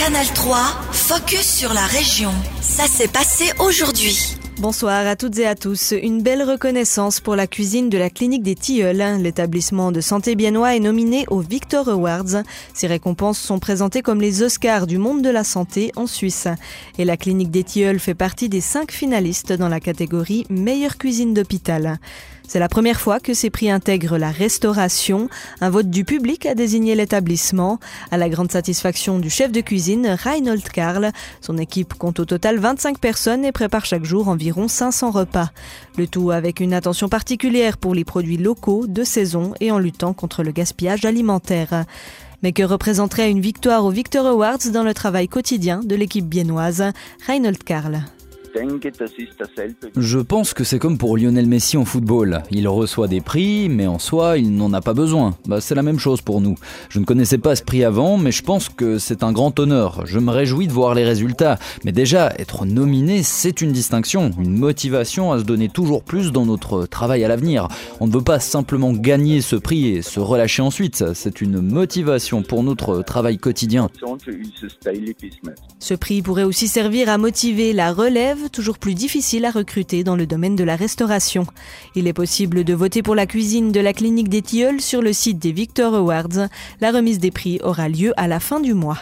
Canal 3, focus sur la région. Ça s'est passé aujourd'hui. Bonsoir à toutes et à tous. Une belle reconnaissance pour la cuisine de la clinique des Tilleuls. L'établissement de santé biennois est nominé aux Victor Awards. Ces récompenses sont présentées comme les Oscars du monde de la santé en Suisse. Et la clinique des Tilleuls fait partie des 5 finalistes dans la catégorie meilleure cuisine d'hôpital. C'est la première fois que ces prix intègrent la restauration. Un vote du public a désigné l'établissement. À la grande satisfaction du chef de cuisine, Reinhold Karl. Son équipe compte au total 25 personnes et prépare chaque jour environ 500 repas. Le tout avec une attention particulière pour les produits locaux, de saison et en luttant contre le gaspillage alimentaire. Mais que représenterait une victoire aux Victor Awards dans le travail quotidien de l'équipe biennoise? Reinhold Karl. Je pense que c'est comme pour Lionel Messi en football. Il reçoit des prix, mais en soi, il n'en a pas besoin. C'est la même chose pour nous. Je ne connaissais pas ce prix avant, mais je pense que c'est un grand honneur. Je me réjouis de voir les résultats. Mais déjà, être nominé, c'est une distinction, une motivation à se donner toujours plus dans notre travail à l'avenir. On ne veut pas simplement gagner ce prix et se relâcher ensuite. C'est une motivation pour notre travail quotidien. Ce prix pourrait aussi servir à motiver la relève, toujours plus difficile à recruter dans le domaine de la restauration. Il est possible de voter pour la cuisine de la clinique des Tilleuls sur le site des Victor Awards. La remise des prix aura lieu à la fin du mois.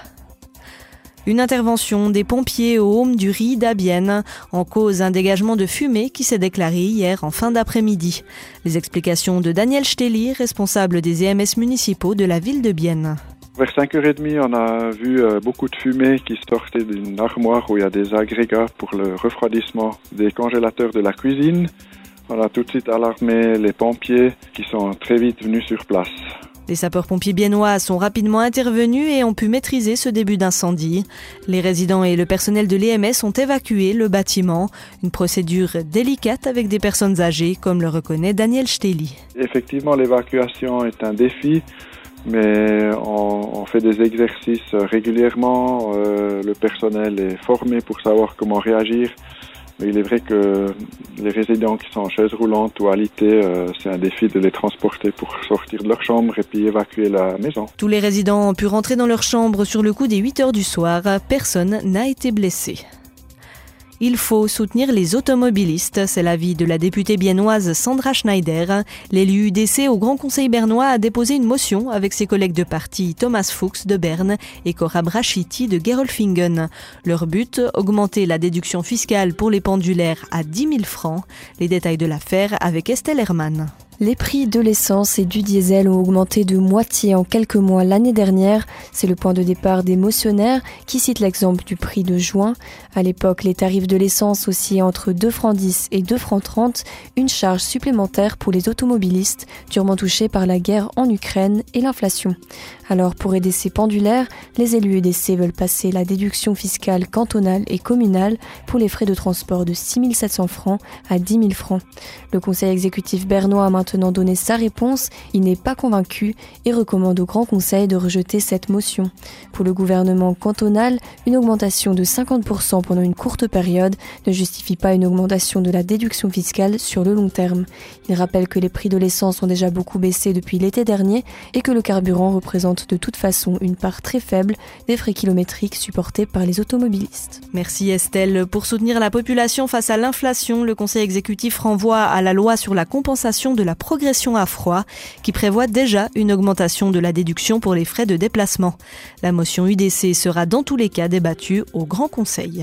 Une intervention des pompiers au Home du Ried à Bienne, en cause un dégagement de fumée qui s'est déclaré hier en fin d'après-midi. Les explications de Daniel Steli, responsable des EMS municipaux de la ville de Bienne. Vers 5h30, on a vu beaucoup de fumée qui sortait d'une armoire où il y a des agrégats pour le refroidissement des congélateurs de la cuisine. On a tout de suite alarmé les pompiers qui sont très vite venus sur place. Les sapeurs-pompiers biennois sont rapidement intervenus et ont pu maîtriser ce début d'incendie. Les résidents et le personnel de l'EMS ont évacué le bâtiment. Une procédure délicate avec des personnes âgées, comme le reconnaît Daniel Steli. Effectivement, l'évacuation est un défi. Mais on fait des exercices régulièrement, le personnel est formé pour savoir comment réagir. Mais il est vrai que les résidents qui sont en chaise roulante ou alités, c'est un défi de les transporter pour sortir de leur chambre et puis évacuer la maison. Tous les résidents ont pu rentrer dans leur chambre sur le coup des 8h du soir. Personne n'a été blessé. Il faut soutenir les automobilistes, c'est l'avis de la députée biennoise Sandra Schneider. L'élu UDC au Grand Conseil bernois a déposé une motion avec ses collègues de parti Thomas Fuchs de Berne et Cora Brachiti de Gerolfingen. Leur but, augmenter la déduction fiscale pour les pendulaires à 10 000 francs. Les détails de l'affaire avec Estelle Hermann. Les prix de l'essence et du diesel ont augmenté de moitié en quelques mois l'année dernière. C'est le point de départ des motionnaires qui citent l'exemple du prix de juin. À l'époque, les tarifs de l'essence oscillaient entre 2,10 francs et 2,30 francs, une charge supplémentaire pour les automobilistes durement touchés par la guerre en Ukraine et l'inflation. Alors pour aider ces pendulaires, les élus EDC veulent passer la déduction fiscale cantonale et communale pour les frais de transport de 6 700 francs à 10 000 francs. Le conseil exécutif bernois a maintenant donné sa réponse. Il n'est pas convaincu et recommande au Grand Conseil de rejeter cette motion. Pour le gouvernement cantonal, une augmentation de 50% pendant une courte période ne justifie pas une augmentation de la déduction fiscale sur le long terme. Il rappelle que les prix de l'essence ont déjà beaucoup baissé depuis l'été dernier et que le carburant représente de toute façon une part très faible des frais kilométriques supportés par les automobilistes. Merci Estelle. Pour soutenir la population face à l'inflation, le Conseil exécutif renvoie à la loi sur la compensation de la progression à froid qui prévoit déjà une augmentation de la déduction pour les frais de déplacement. La motion UDC sera dans tous les cas débattue au Grand Conseil.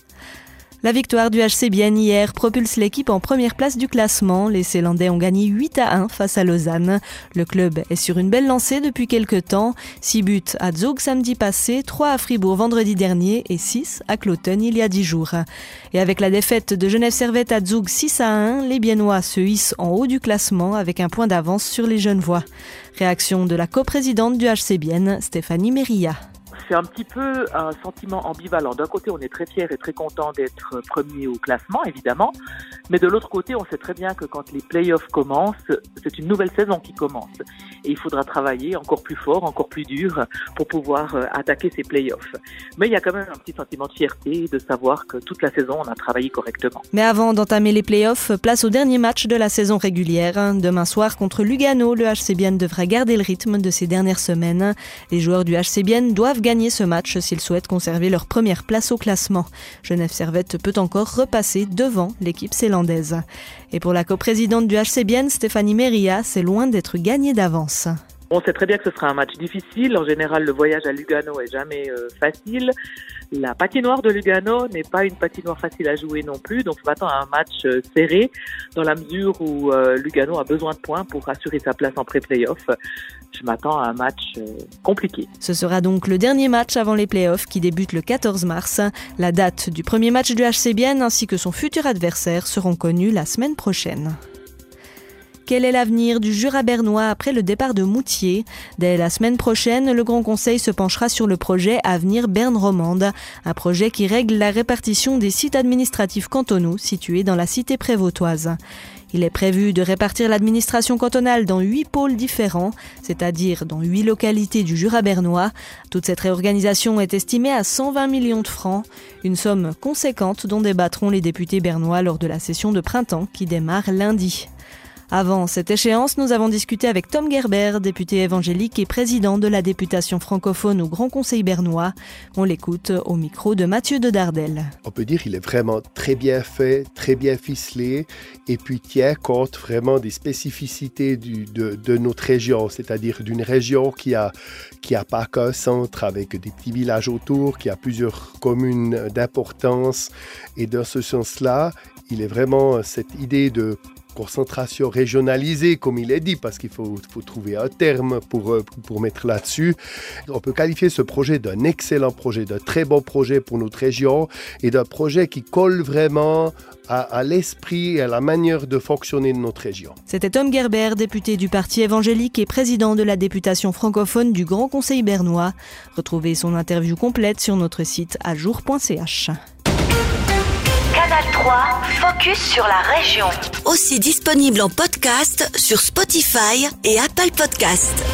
La victoire du HC Bienne hier propulse l'équipe en première place du classement. Les Célandais ont gagné 8-1 face à Lausanne. Le club est sur une belle lancée depuis quelques temps. 6 buts à Zug samedi passé, 3 à Fribourg vendredi dernier et 6 à Cloten il y a 10 jours. Et avec la défaite de Genève Servette à Zug 6-1, les Biennois se hissent en haut du classement avec un point d'avance sur les Genevois. Réaction de la coprésidente du HC Bienne, Stéphanie Merilla. C'est un petit peu un sentiment ambivalent. D'un côté, on est très fiers et très contents d'être premiers au classement, évidemment. Mais de l'autre côté, on sait très bien que quand les playoffs commencent, c'est une nouvelle saison qui commence. Et il faudra travailler encore plus fort, encore plus dur pour pouvoir attaquer ces playoffs. Mais il y a quand même un petit sentiment de fierté de savoir que toute la saison, on a travaillé correctement. Mais avant d'entamer les playoffs, place au dernier match de la saison régulière. Demain soir, contre Lugano, le HC Bienne devrait garder le rythme de ces dernières semaines. Les joueurs du HC Bienne doivent gagner gagner ce match s'ils souhaitent conserver leur première place au classement. Genève Servette peut encore repasser devant l'équipe zélandaise. Et pour la coprésidente du HC Bienne, Stéphanie Meria, c'est loin d'être gagné d'avance. On sait très bien que ce sera un match difficile. En général, le voyage à Lugano est jamais facile. La patinoire de Lugano n'est pas une patinoire facile à jouer non plus. Donc, je m'attends à un match serré dans la mesure où Lugano a besoin de points pour assurer sa place en pré-playoff. Je m'attends à un match compliqué. Ce sera donc le dernier match avant les playoffs qui débutent le 14 mars. La date du premier match du HC Bienne ainsi que son futur adversaire seront connus la semaine prochaine. Quel est l'avenir du Jura bernois après le départ de Moutier ? Dès la semaine prochaine, le Grand Conseil se penchera sur le projet Avenir Berne Romande, un projet qui règle la répartition des sites administratifs cantonaux situés dans la cité prévôtoise. Il est prévu de répartir l'administration cantonale dans 8 pôles différents, c'est-à-dire dans 8 localités du Jura bernois. Toute cette réorganisation est estimée à 120 millions de francs, une somme conséquente dont débattront les députés bernois lors de la session de printemps qui démarre lundi. Avant cette échéance, nous avons discuté avec Tom Gerber, député évangélique et président de la députation francophone au Grand Conseil bernois. On l'écoute au micro de Mathieu de Dardel. On peut dire qu'il est vraiment très bien fait, très bien ficelé et puis tient compte vraiment des spécificités de notre région, c'est-à-dire d'une région qui a pas qu'un centre avec des petits villages autour, qui a plusieurs communes d'importance et dans ce sens-là, il est vraiment cette idée de concentration régionalisée, comme il est dit, parce qu'il faut trouver un terme pour mettre là-dessus. On peut qualifier ce projet d'un excellent projet, d'un très bon projet pour notre région et d'un projet qui colle vraiment à l'esprit et à la manière de fonctionner de notre région. C'était Tom Gerber, député du Parti évangélique et président de la députation francophone du Grand Conseil bernois. Retrouvez son interview complète sur notre site ajour.ch. Canal 3, focus sur la région. Aussi disponible en podcast sur Spotify et Apple Podcasts.